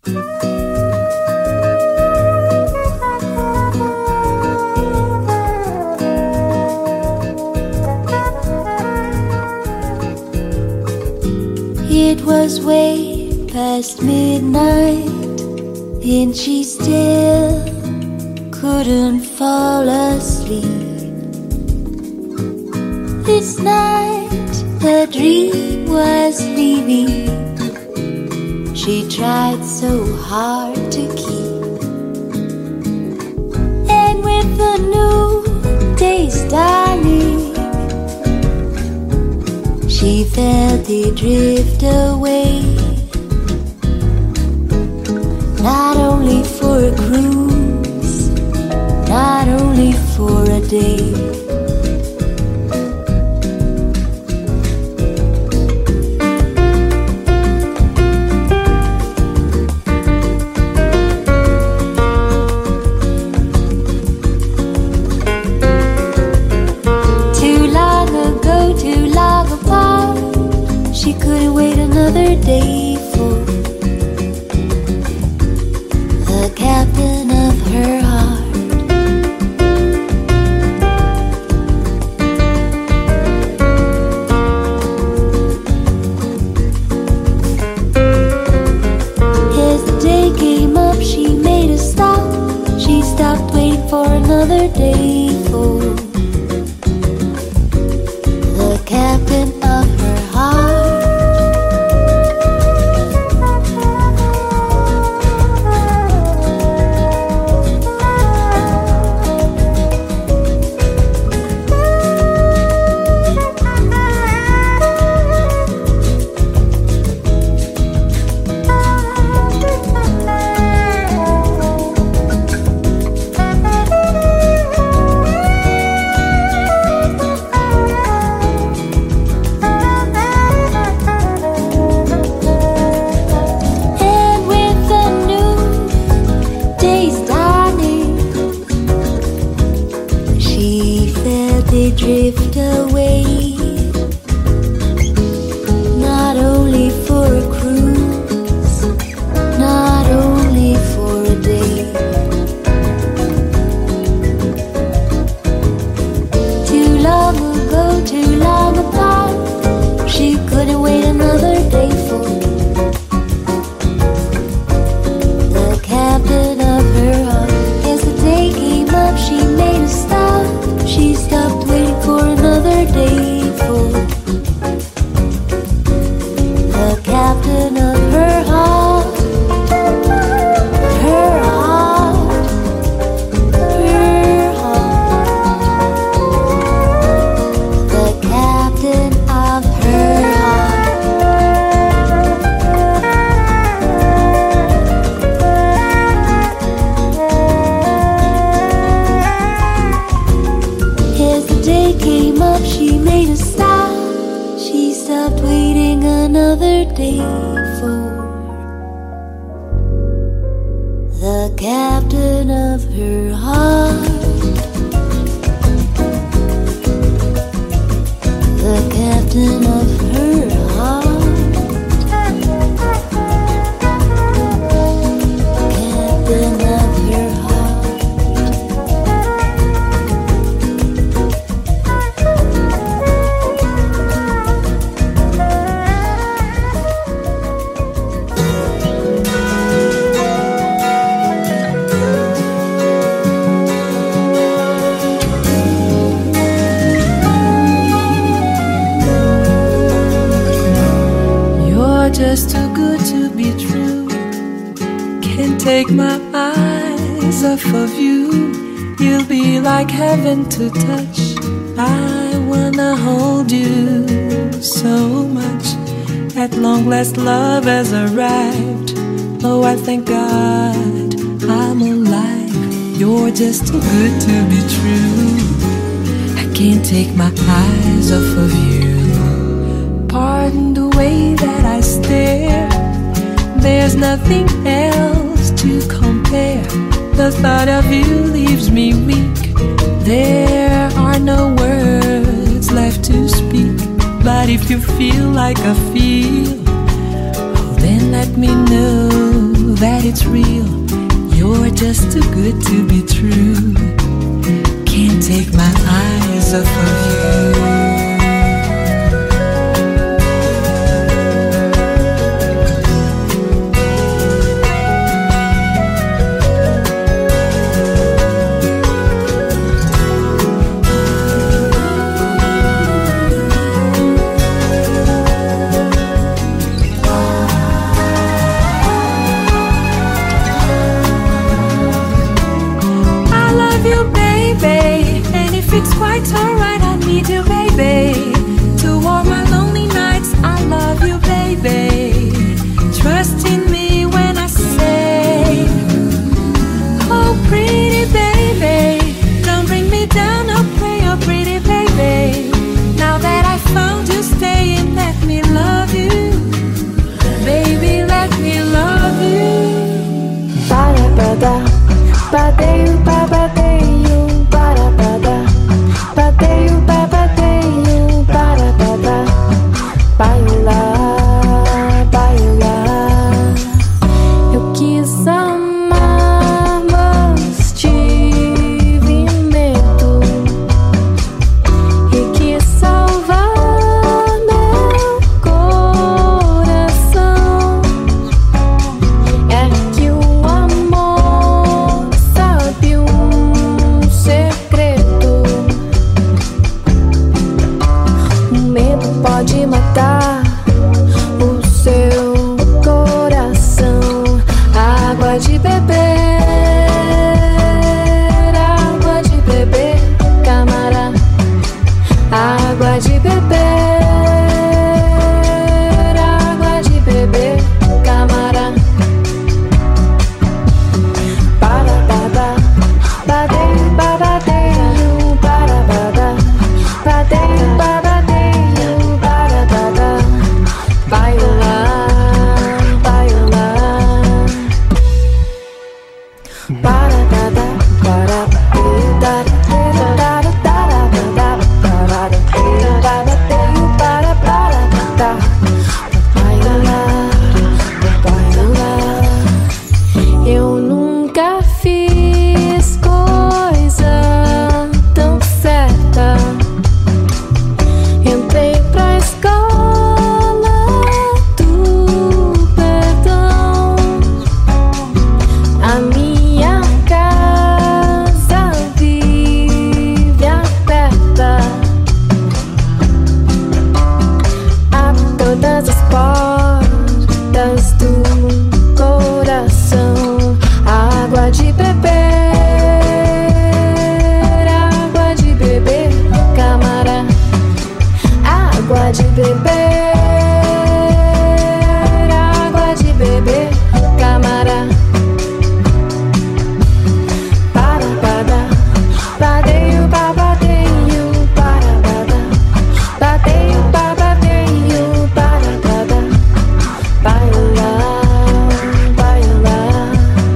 It was way past midnight, and she still couldn't fall asleep. This night her dream was leaving. She tried so hard to keep, and with the new day's dawning, she felt it drift away. Not only for a cruise, not only for a day. She couldn't wait another day for the captain of her heart. As the day came up, she made a stop. She stopped waiting for another day for the captain of her heart. Drift away, not only for a cruise, not only for a day. Too long ago, too long apart, she couldn't wait another day for the captain of her heart. As the day came up, she made a stop. She stopped waiting for another day for the captain of her heart. Her heart, her heart. The captain of her came up, she made a stop. She stopped waiting another day for the captain of her heart. The captain of her heart. Captain of her heart. Just too good to be true. Can't take my eyes off of you. You'll be like heaven to touch. I wanna hold you so much. At long last love has arrived. Oh, I thank God I'm alive. You're just too good to be true. I can't take my eyes off of you. Pardon the way that I stare. There's nothing else to compare. The thought of you leaves me weak. There are no words left to speak. But if you feel like I feel, oh, then let me know that it's real. You're just too good to be true. Can't take my eyes off of you. It's quite alright, I need you, baby. To warm my lonely nights, I love you, baby. Trust in me when I say, oh pretty baby, don't bring me down, oh pray, oh pretty baby. Now that I found you, stay and let me love you. Baby, let me love you. Para-bada, badeio, babadeio, para-bada. Bateio, babadeio, para-bada. Bailar, bailar. Eu quis amar, mas tive medo. E quis salvar meu coração. É que o amor sabe segredo. O medo pode matar o seu coração. Água de beber, camará. Água de beber, camará. Para-bada, badeio, babadeio, para-bada. Badeio, babadeio, para-bada. Bailar, bailar. Para-bada, para-badeio, babadeio, para-bada. Bailar, bailar. Eu nunca fiz coisa tão certa. Entrei pra escola do perdão. A minha casa vive aberta a todas as portas do coração. Água de beber, camará. Água de beber, camará. Para-bada, badeio, babadeio, para-bada. Badeio, babadeio, para-bada. Bailar, bailar.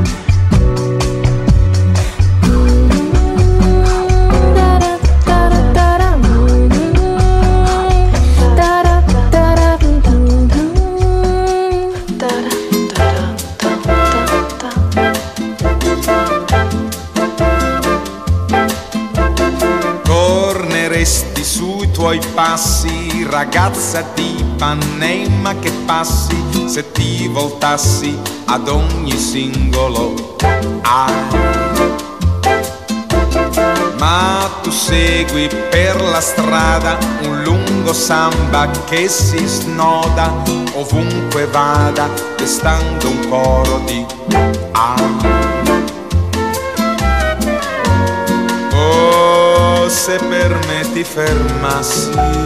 Torneresti sui tuoi passi, ragazza di Ipanema che passi, se ti voltassi ad ogni singolo ma tu segui per la strada un lungo samba che si snoda ovunque vada, destando un coro di oh, se per me ti fermassi,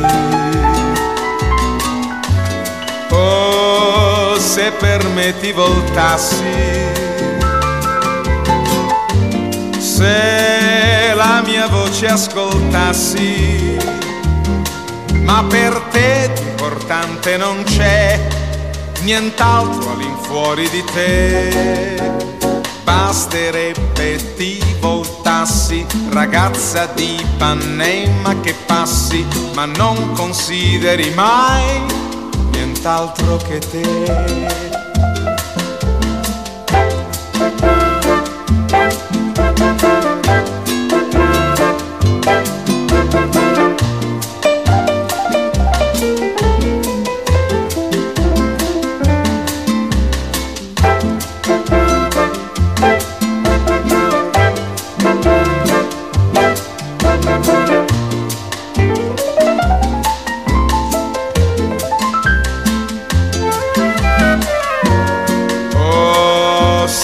oh, se per me ti voltassi, se la mia voce ascoltassi, ma per te di importante non c'è nient'altro all'infuori di te. Basterebbe ti voltassi, ragazza di Ipanema che passi, ma non consideri mai nient'altro che te.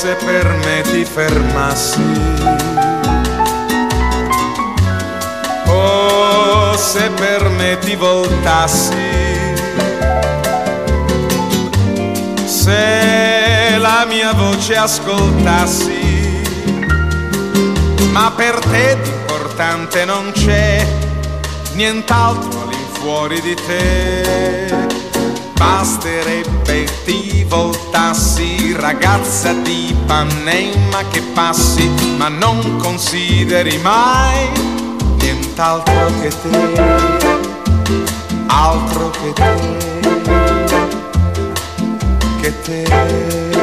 se per me ti fermassi, oh se per me ti voltassi, se la mia voce ascoltassi, ma per te di importante non c'è nient'altro all'infuori di te. Basterebbe ti voltassi, ragazza di Ipanema che passi, ma non consideri mai nient'altro che te, altro che te.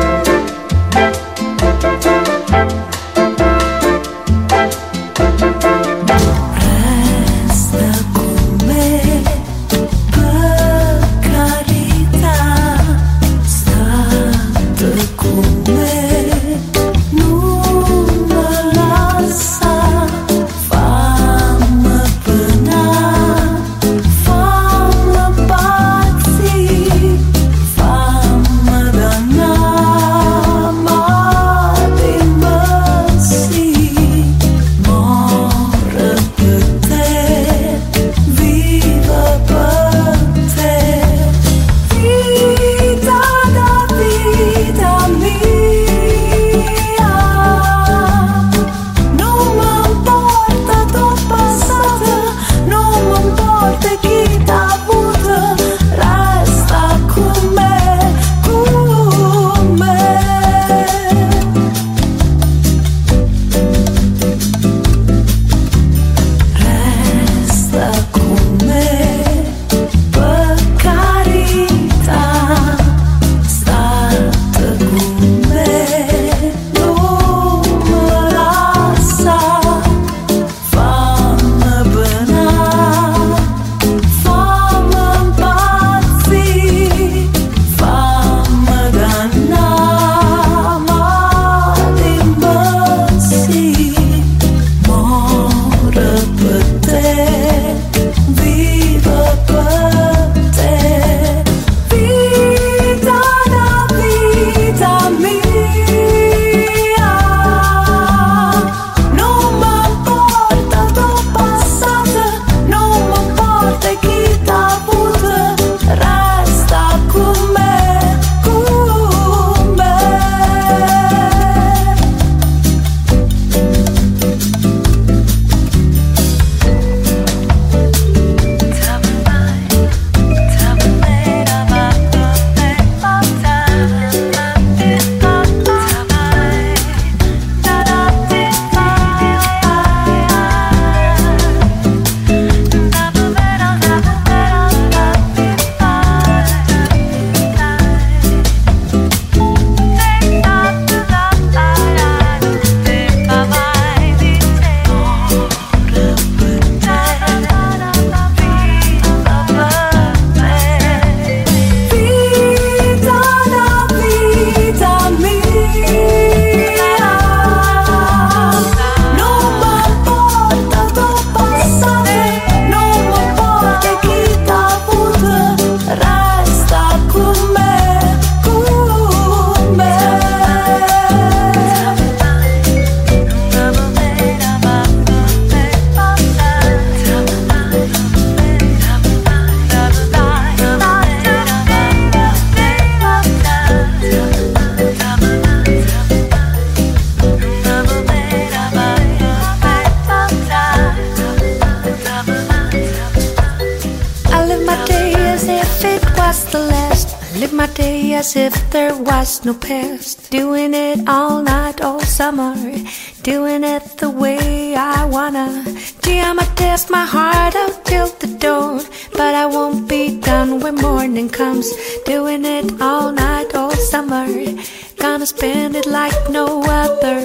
my day as if there was no past. Doing it all night, all summer. Doing it the way I wanna. Gee, I'ma test my heart out till the dawn, but I won't be done when morning comes. Doing it all night, all summer. Gonna spend it like no other.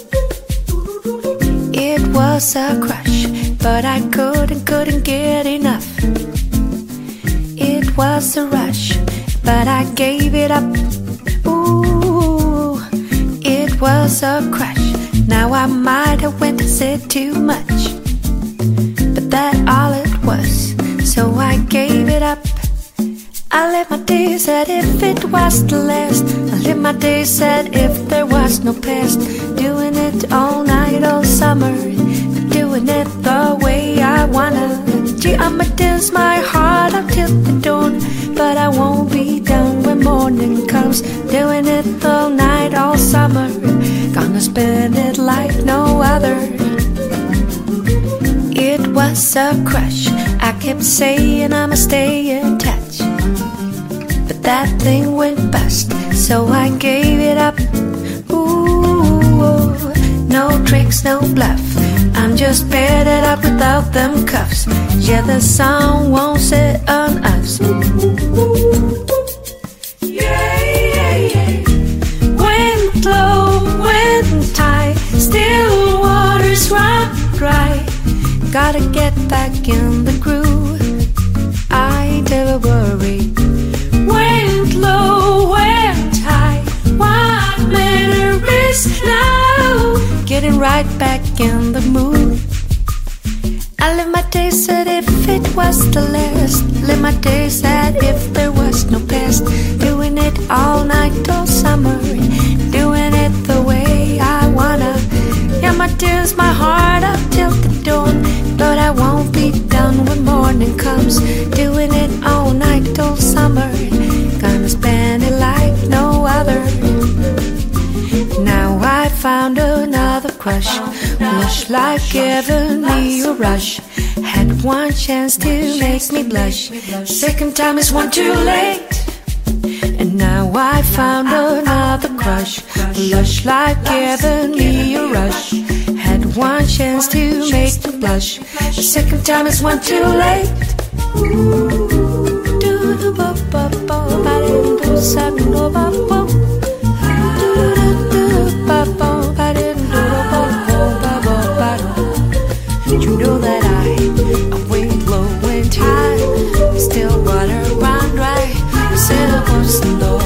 It was a crush, but I couldn't get enough. It was a rush, but I gave it up. Ooh, it was a crush. Now I might have went and said too much, but that all it was. So I gave it up. I live my days as if it was the last. I live my days as if there was no past. Doing it all night, all summer. Doing it the way I wanna. Gee, I'ma dance my heart out till the dawn. But I won't be down when morning comes. Doing it all night, all summer. Gonna spend it like no other. It was a crush. I kept saying I'ma stay in touch. But that thing went bust, so I gave it up. Ooh, no tricks, no bluff. I'm just bedded up without them cuffs. Yeah, the sun won't set on us. Yeah, yeah, yeah. Wind low, wind high, still waters run dry. Gotta get back in the groove. I never worry. Wind low, wind high. What matter is now getting right back in the mood. I live my days as if it was the last. Live my days as if there was no past. Doing it all night, all summer. Doing it the way I wanna. Yeah, my dance my heart up till the dawn. But I won't be done when morning comes. Doing it all night, all summer. Gonna spend it like no other. Now I found another crush. Lush like giving me a rush. Had one chance to make me blush. Second time is one too late. And now I found another crush. Lush like giving me a rush. Had one chance to make me blush. The second time is one too late. You know that I went low, went high, still water run dry. Said I was the Lord.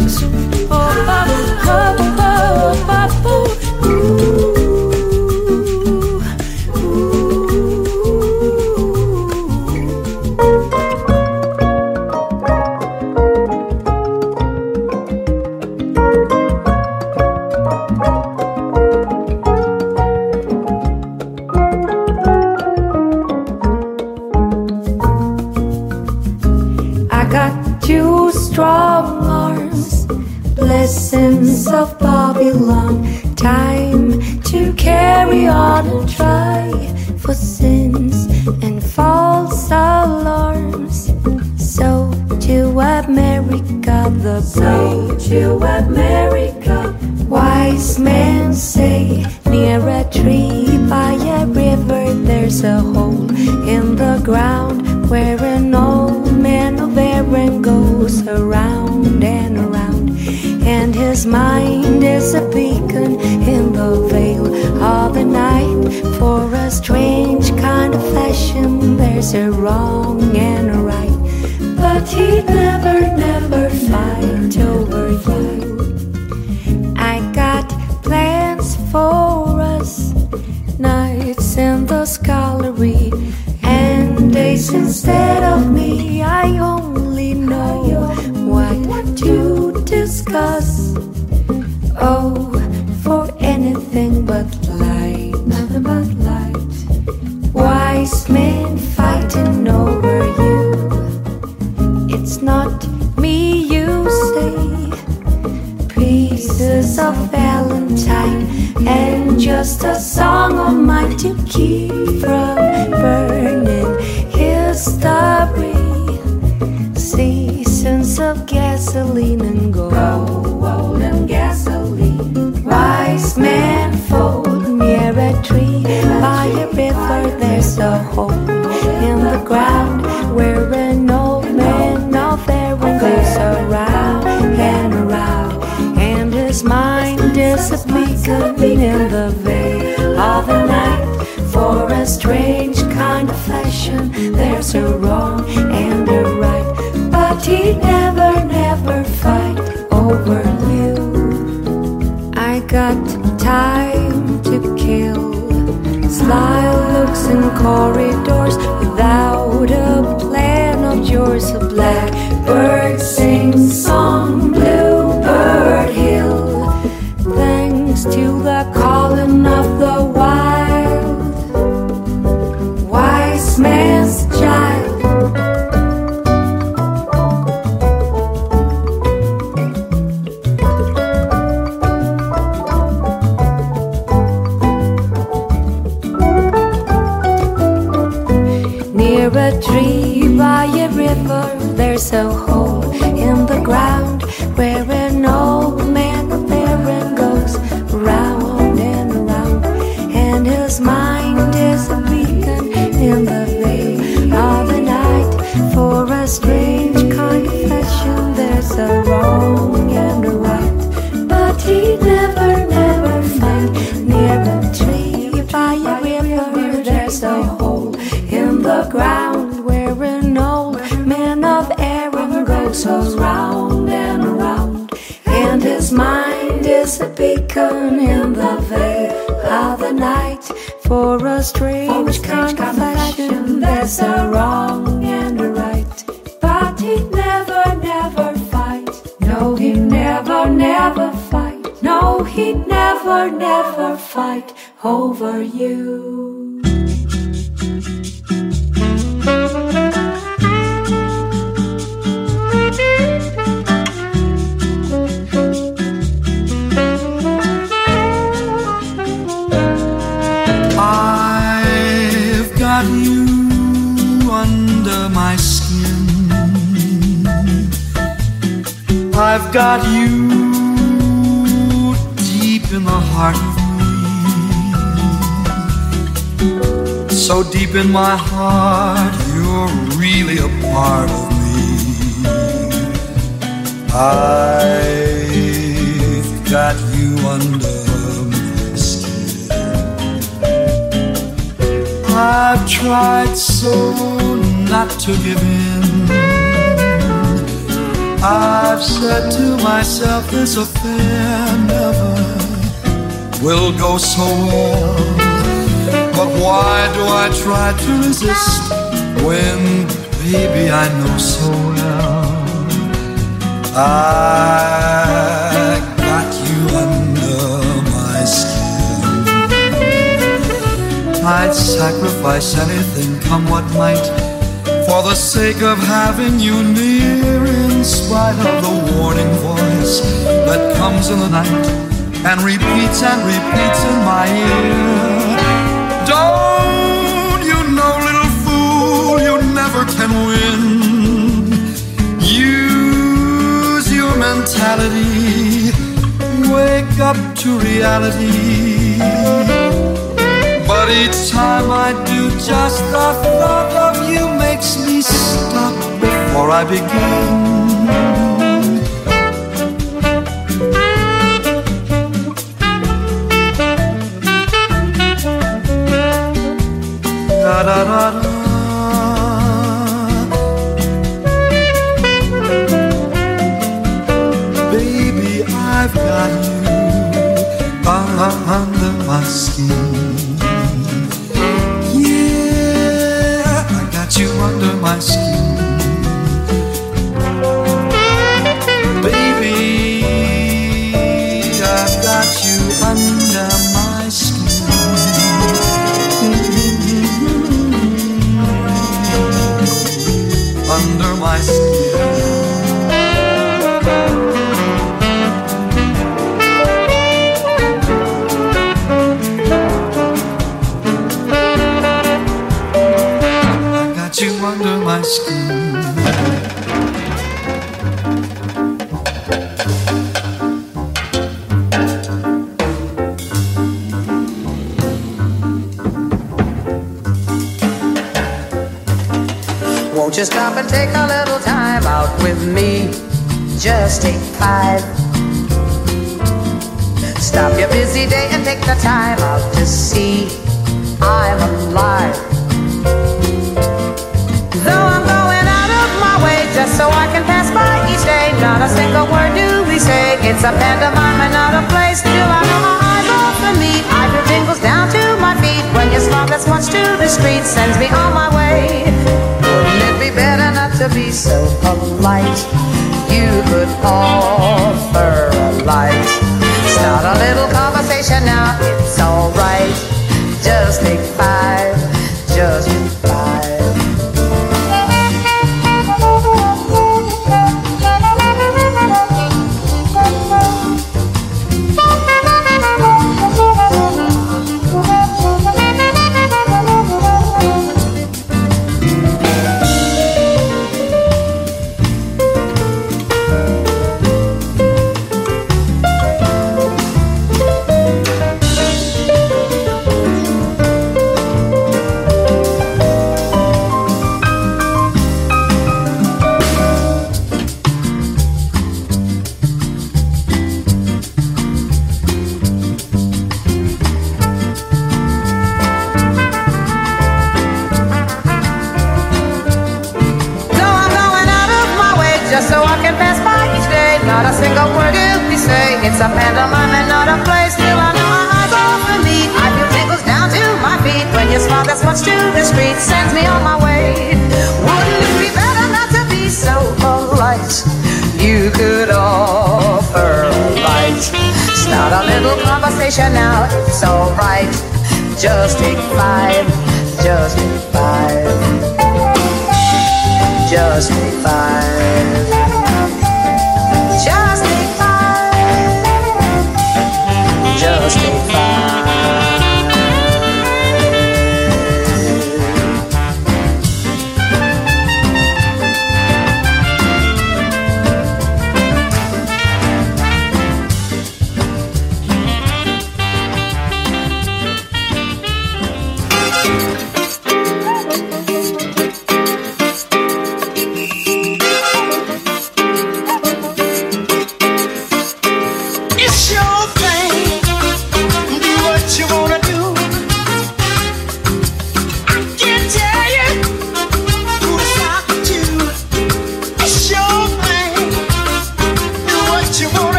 Strong arms, blessings of Babylon. Time to carry on and try for sins and false alarms. So to America the brave, to America. Wise men say near a tree by a river there's a hole in the ground where an old man of Aaron goes around and around, and his mind is a beacon in the veil of the night. For a strange kind of fashion there's a wrong and a right, but he'd never fight over you. I got plans for us, nights in the scullery and days instead of me. I only know what to discuss. Oh, for anything but light, nothing but light. Wise men fighting over you. It's not me, you say. Pieces of Valentine and just a song of mine to keep from burning history. Seasons of gasoline and gold and gasoline. Wise men fold near a tree by a river. There's a hole in the ground where an old man of Aaron goes around and around, and his mind is a beacon in the veil of the night. For a strange kind of fashion there's a wrong and a right, but he never fight over you. I got time to kill, sly looks in corridors without a plan of yours. A black Birds sing song, Bluebird Hill, thanks to the calling of the wild, wise man's child. Near a tree by a river, there's a hole in the ground where an old man Baron goes round and around, and his mind is a beacon in the veil of the night. For a strange confession, there's a wrong and a right, but he never find. Near a tree by a river, there's a hole in the ground where an old man of Aaron goes round and around, and his mind is a beacon in the veil of the night. For a strange confession, there's a wrong and a right, but he never fight. No, he never fight. No, he never fight over you. I've got you under my skin. I've got you deep in the heart of me. So deep in my heart, you're really a part of me. I've got you under my skin. I've tried so not to give in. I've said to myself, this affair never will go so well. But why do I try to resist when, baby, I know so well I got you under my skin. I'd sacrifice anything, come what might, for the sake of having you near, in spite of the warning voice that comes in the night and repeats in my ear. Don't you know, little fool, you never can win. Use your mentality, wake up to reality. But each time I do, just the thought of you makes me stop before I begin. Da da da da. Baby, I've got you under my skin. You under my skin, baby, I've got you under my skin, under my skin. You under my skin. Won't you stop and take a little time out with me? Just take 5. Stop your busy day and take the time out to see I'm alive. Though I'm going out of my way just so I can pass by each day, not a single word do we say. It's a pantomime and not a play. Still I know my eyes off of me. I feel tingles down to my feet when your smile that's much to the street sends me on my way. Wouldn't it be better not to be so polite. You could offer a light. Start a little conversation now, it's alright. Just take 5, just take 5. It's a pantomime and not a play. Still I know my eyes off of me. I feel tingles down to my feet. When you smile that's much too discreet, sends me on my way. Wouldn't it be better not to be so polite? You could offer a light. Start a little conversation now, it's alright. Just take 5, just take 5. Just take 5. Just take 5. Just take 5.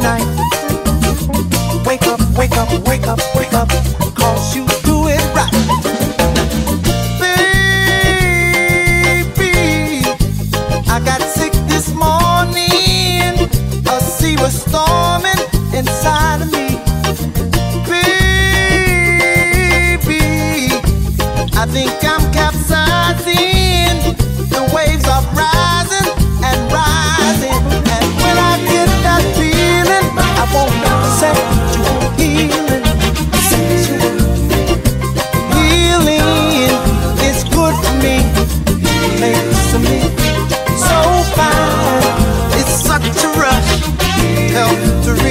tonight. Wake up, wake up, wake up, wake up, 'cause you do it right. Baby, I got sick this morning. A sea was storming inside of me. Baby, I think I'm capsizing. The waves are rising and rising. And when I get that feeling, I won't set you healing. Healing is good for me. Makes me so fine. It's such a rush. Help to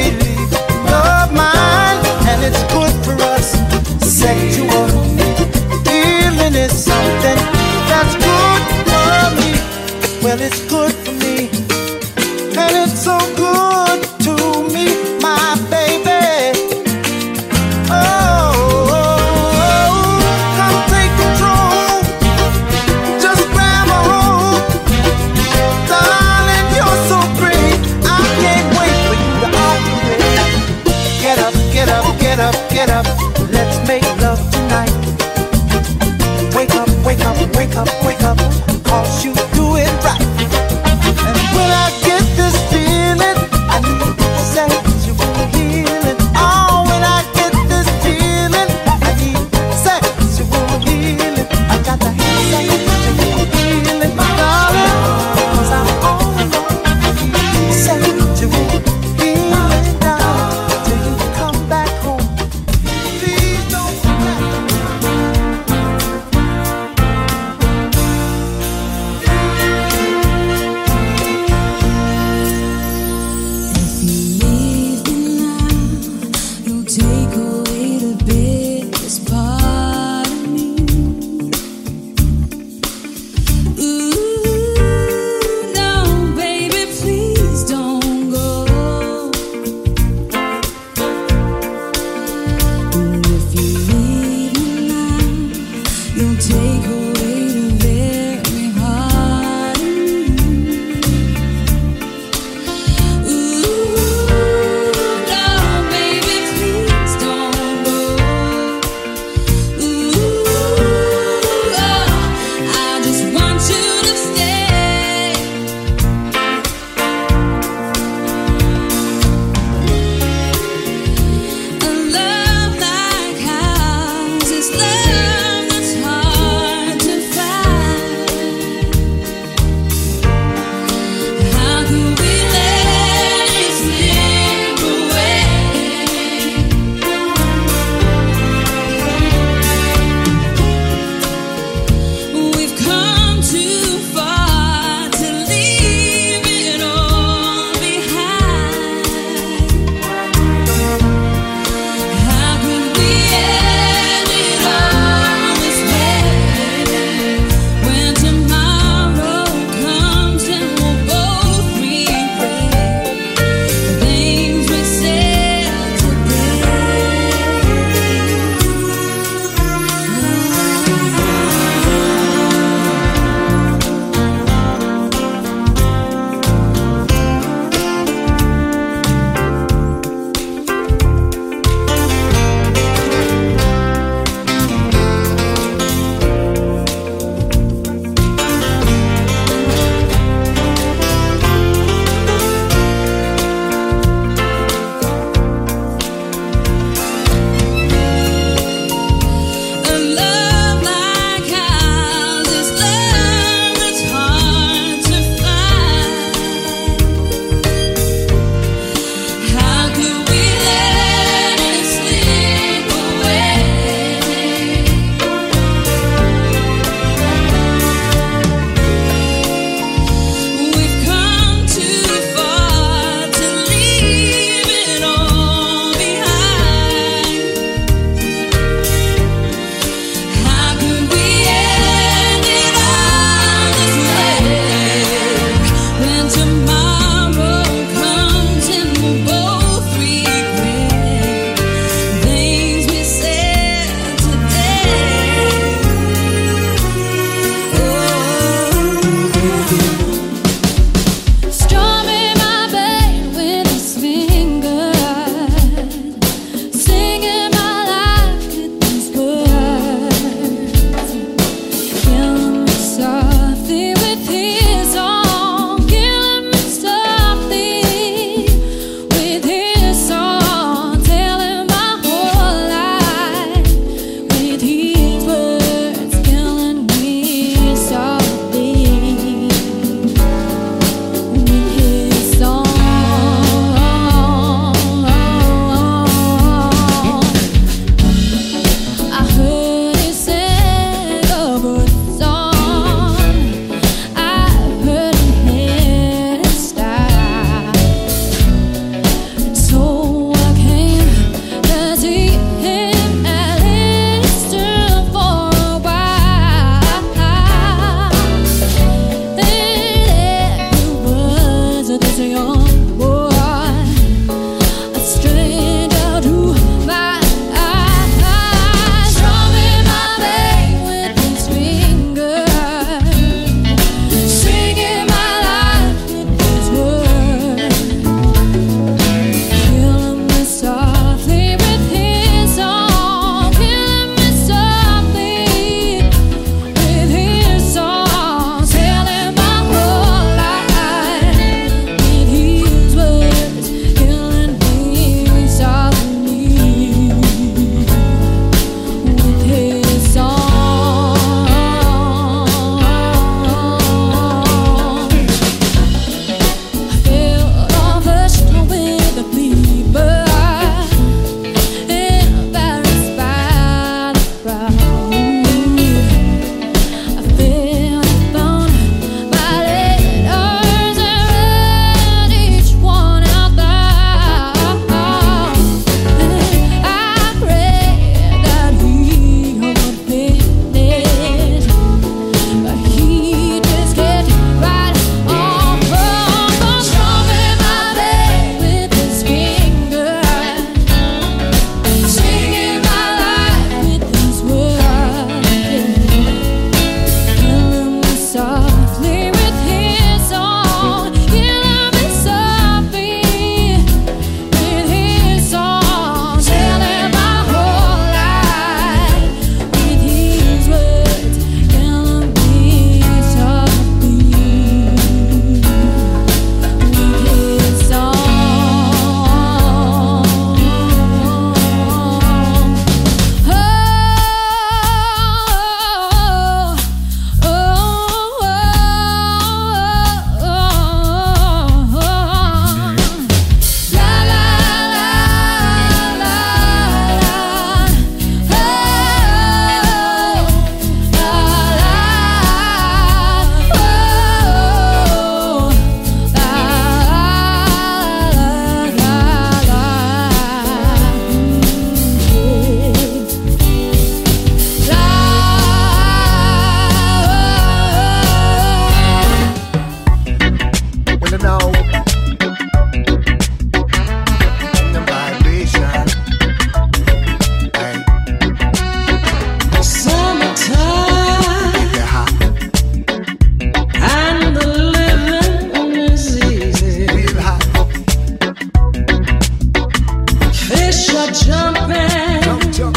Fish are jumping, Jump, jump,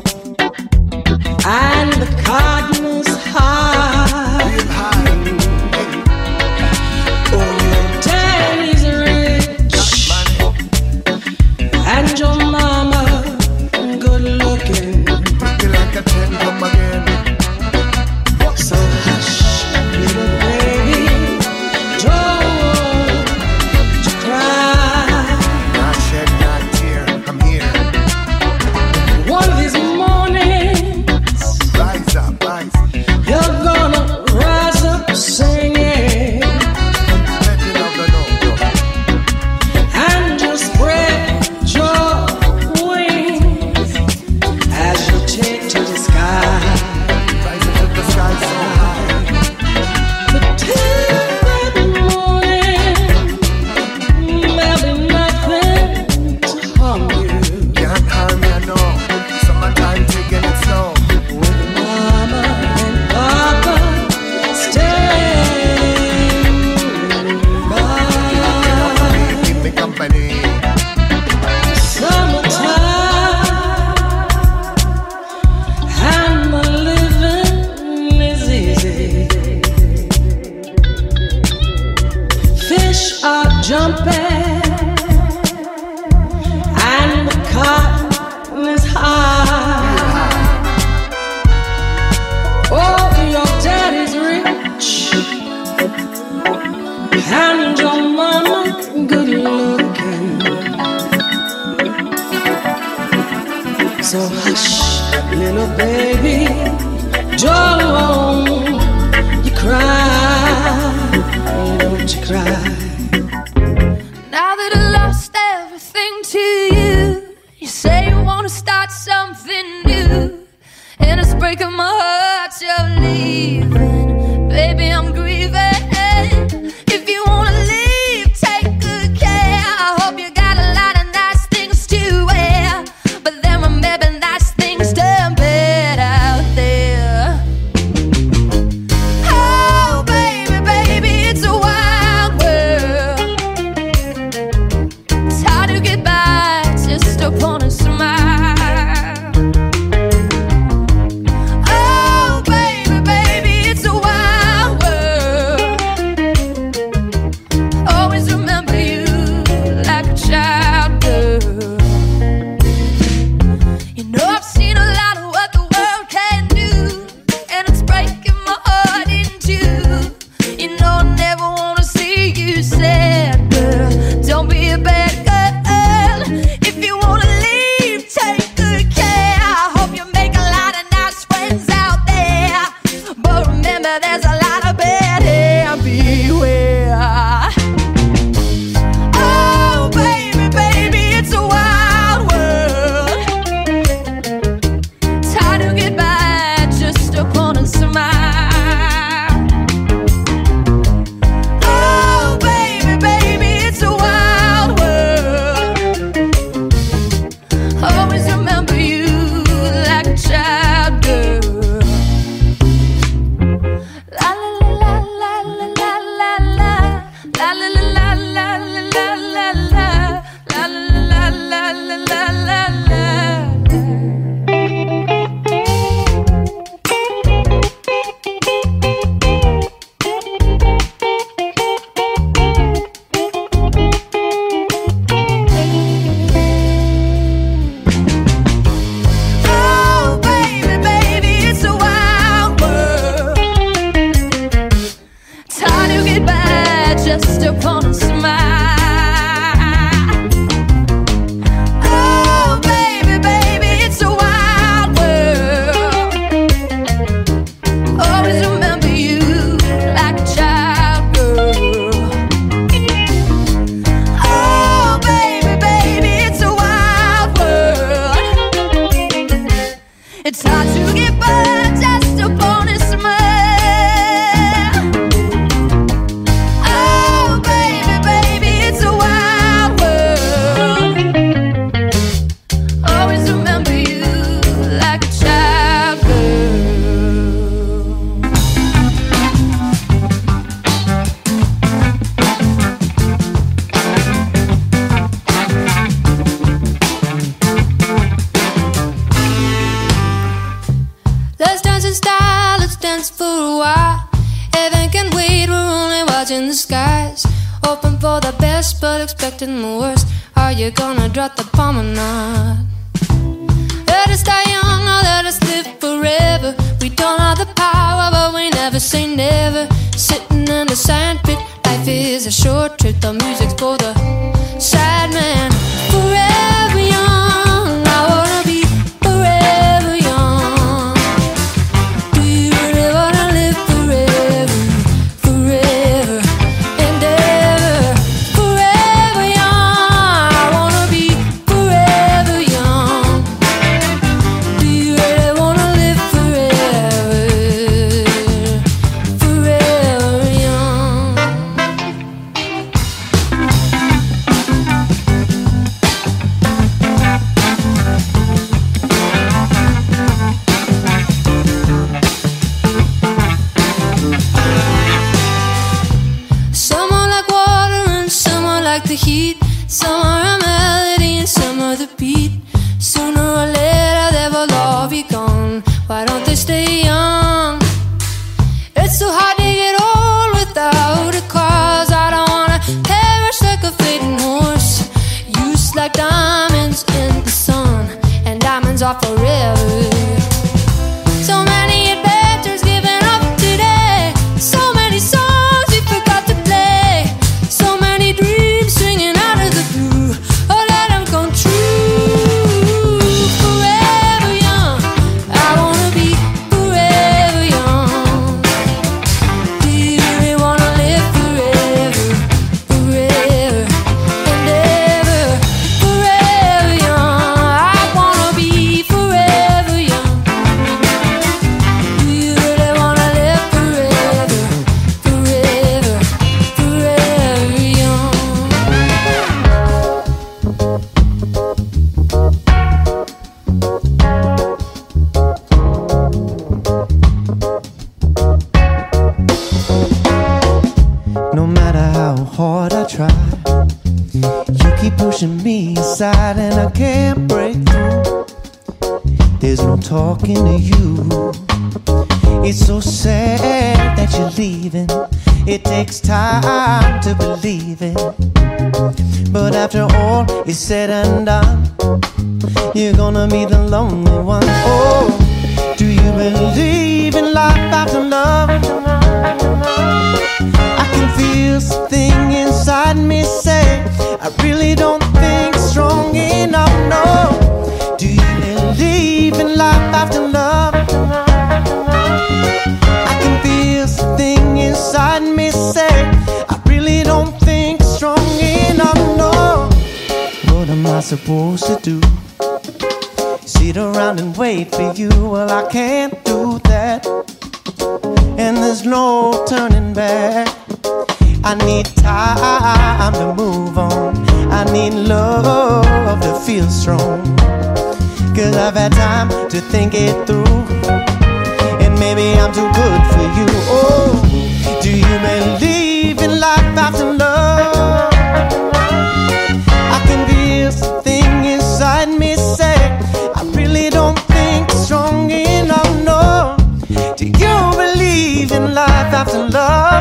and the cardinals high. real high. Oh, your daddy's rich, Money, and your mama good looking. pretty like a 10, come again. So hush, little baby, don't you cry. Not shed, not tear, I'm here. One of these mornings, Rise up, rise. you're gonna rise up singing, Let me know the no. and just spread your wings as you take to the sky. Rise up to the sky so high. But till that morning, there'll be nothing to harm you. Can't harm me, I know. Summertime taking it slow. With mama and papa standing by. Keep me company. Summertime and the living is easy. Fish are jumping and the cotton is high. Oh, your daddy's rich and your mama good looking. So hush, little baby, don't you cry, don't you cry. Now that I lost everything to you, you say you wanna start something new, and it's breaking my heart you're leaving. Baby, I'm grieving. If you wanna leave, take good care. I hope you got a lot of nice things to wear, but then remember nice things done bad out there. Oh, baby, baby, it's a wild world. It's hard to get by just upon a smile. Oh, baby, baby, it's a wild world. Always remember you like a child girl. You know I've seen a lot of what the world can do, and it's breaking my heart in two. You know I never wanna see you sad, girl. Don't be a bad girl. If you wanna leave, skies, hoping for the best but expecting the worst. Are you gonna drop the bomb or not? Let us die young or let us live forever. We don't have the power but we never say never. Sitting in the sandpit, life is a short trip. The music's for the sad man. Forever young, I wanna be forever young. Do you really wanna live forever, forever and ever? Forever young, I wanna be forever young. Do you really wanna live forever, forever young? Some are like water and some are like the heat. Some are a melody and some are the beat. Sooner or later they will all be gone. Why don't they stay young? It's so hard to get old without a cause. I don't wanna perish like a fading horse. Used like diamonds in the sun, and diamonds are forever. So many adventures given up today. So many songs we forgot to play. So many dreams swinging out of the blue. Oh, let them come true. Forever young, I wanna be forever young. Do you really wanna live forever, forever and ever? Forever young, I wanna be forever young. Do you really wanna live forever, forever, forever young? No matter how hard I try, you keep pushing me aside and I can't break through. There's no talking to you. It's so sad that you're leaving. It takes time to believe it. But after all is said and done, you're gonna be the lonely one. Oh, do you believe in life after love? I can feel something inside me say, I really don't think strong enough, no. Do you believe in life after love? I can feel something inside me say, I really don't think strong enough, no. What am I supposed to do? Sit around and wait for you? Well, I can't do that. And there's no turning back. I need time to move on. I need love to feel strong. 'Cause I've had time to think it through, and maybe I'm too good for you. Oh, do you believe in life after love? I can feel something inside me say, I really don't think strong enough, no. Do you believe in life after love?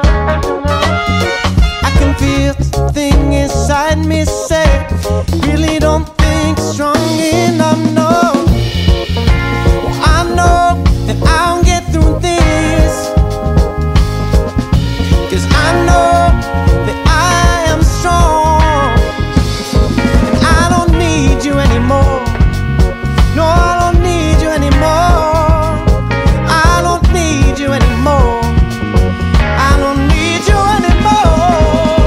I can feel something inside me say, really don't think strong enough, no. Well, I know that I'll get through this, 'cause I know that I am strong. And I don't need you anymore. No, I don't need you anymore. I don't need you anymore. I don't need you anymore.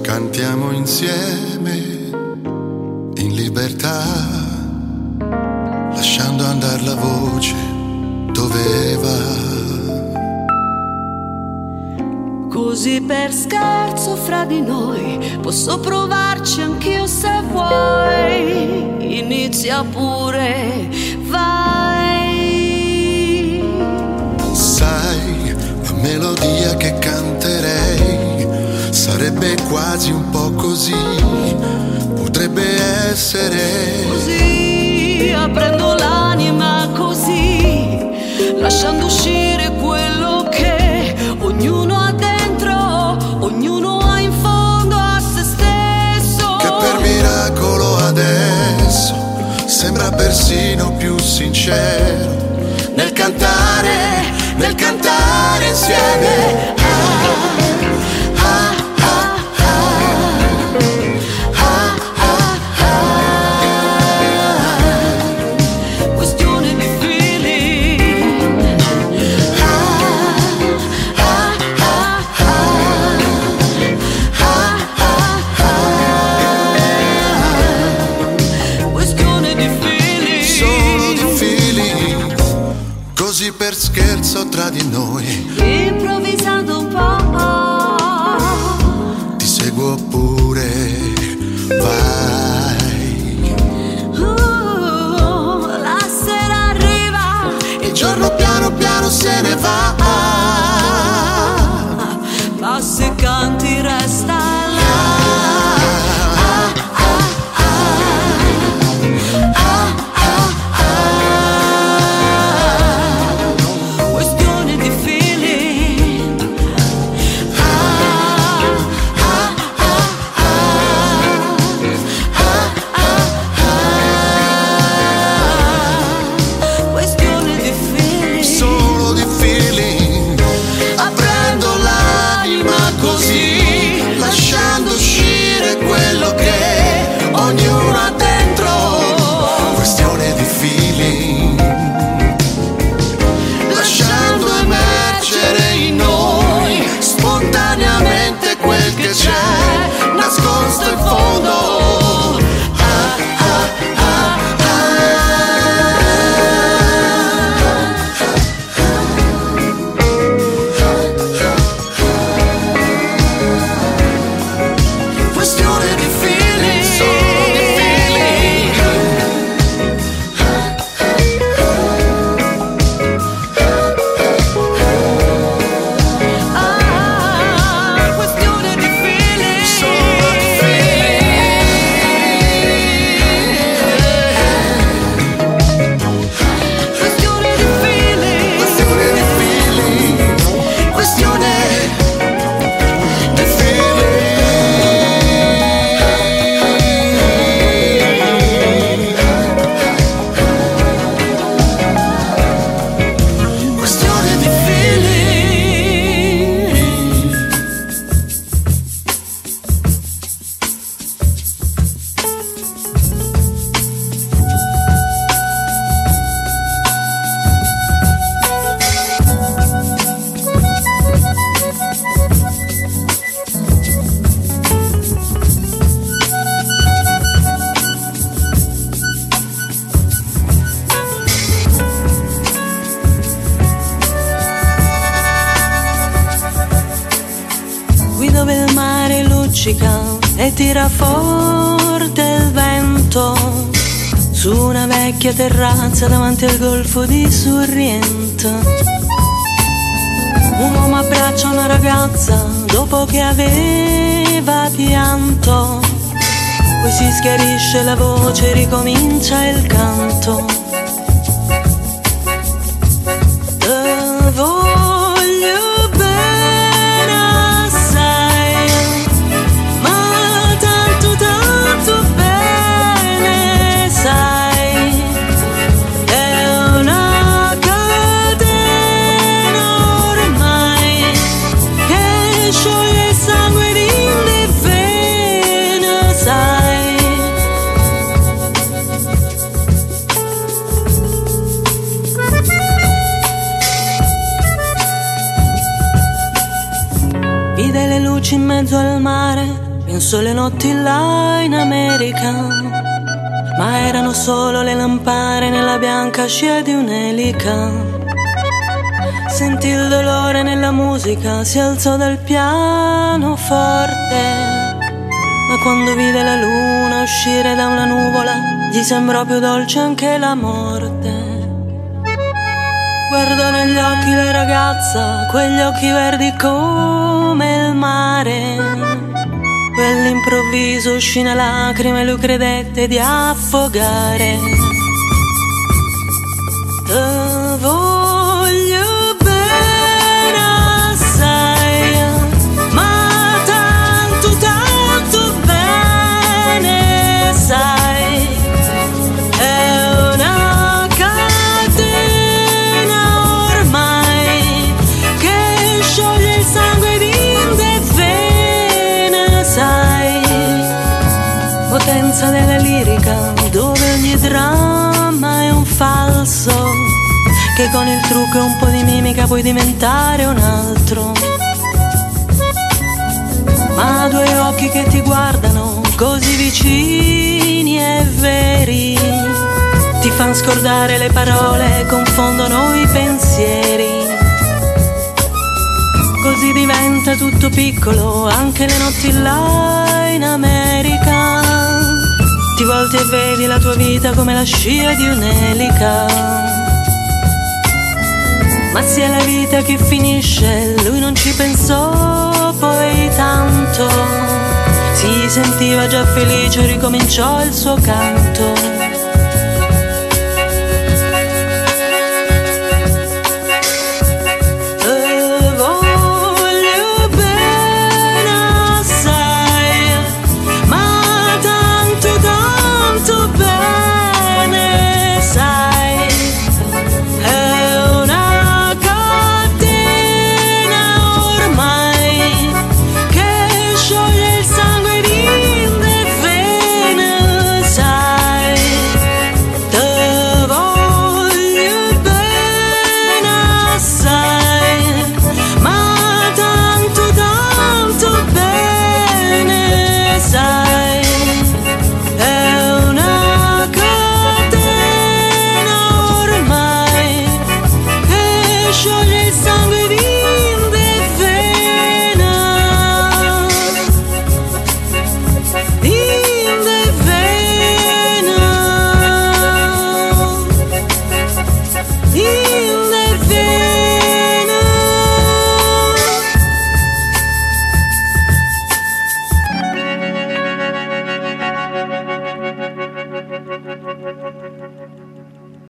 Cantiamo insieme in libertà, lasciando andare la voce dove va. Così per scherzo fra di noi posso provarci anch'io se vuoi. Inizia pure, vai. Sai, la melodia che canterei sarebbe quasi un po' così, potrebbe essere così, aprendo l'anima così, lasciando uscire quello che ognuno ha dentro, ognuno ha in fondo a se stesso. Che per miracolo adesso sembra persino più sincero nel cantare insieme. Per scherzo tra di noi, improvvisando un po', ti seguo pure, vai. La sera arriva, il giorno piano piano se ne va, ma se canti resta là. nascosto in fondo. Questione di feeling, solo di feeling. Questione di feeling, Solo di questione di feeling, Questione di feeling, questione di feeling. Questione di feeling. qui dove il mare luccica e tira forte il vento, su una vecchia terrazza davanti al golfo di Sorrento, un uomo abbraccia una ragazza dopo che aveva pianto, poi si schiarisce la voce e ricomincia il canto. Voglio bene assai, ma tanto tanto bene sai, è una catena ormai che scioglie il sangue in le vene, sai. Vide le luci in mezzo al mare, sulle notti là in America, ma erano solo le lampare nella bianca scia di un'elica. Sentì il dolore nella musica, si alzò dal pianoforte, ma quando vide la luna uscire da una nuvola, gli sembrò più dolce anche la morte. Guardò negli occhi la ragazza, quegli occhi verdi come il mare. Quell'improvviso uscì una lacrima e lui credette di affogare. Te voglio bene assai, ma tanto, tanto bene sai. È una catena ormai che scioglie il sangue in te vene, sai. Potenza della lirica, dove ogni dramma è un falso, che con il trucco e un po' di mimica puoi diventare un altro. Ma due occhi che ti guardano così vicini e veri, ti fan scordare le parole, confondono i pensieri. Così diventa tutto piccolo, anche le notti là in America. Ti volti e vedi la tua vita come la scia di un'elica. Ma sia la vita che finisce, lui non ci pensò poi tanto. Si sentiva già felice, ricominciò il suo canto.